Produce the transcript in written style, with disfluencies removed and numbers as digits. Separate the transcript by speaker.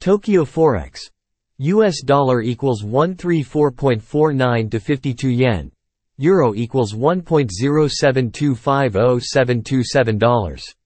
Speaker 1: Tokyo Forex. US dollar equals 134.49 to 52 yen. Euro equals $1.07250,727.